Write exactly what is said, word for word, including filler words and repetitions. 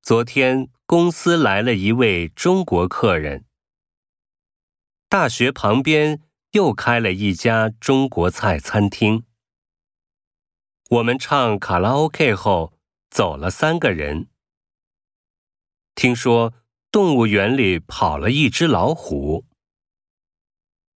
昨天公司来了一位中国客人。大学旁边又开了一家中国菜餐厅。我们唱卡拉 OK 后，走了三个人。听说动物园里跑了一只老虎。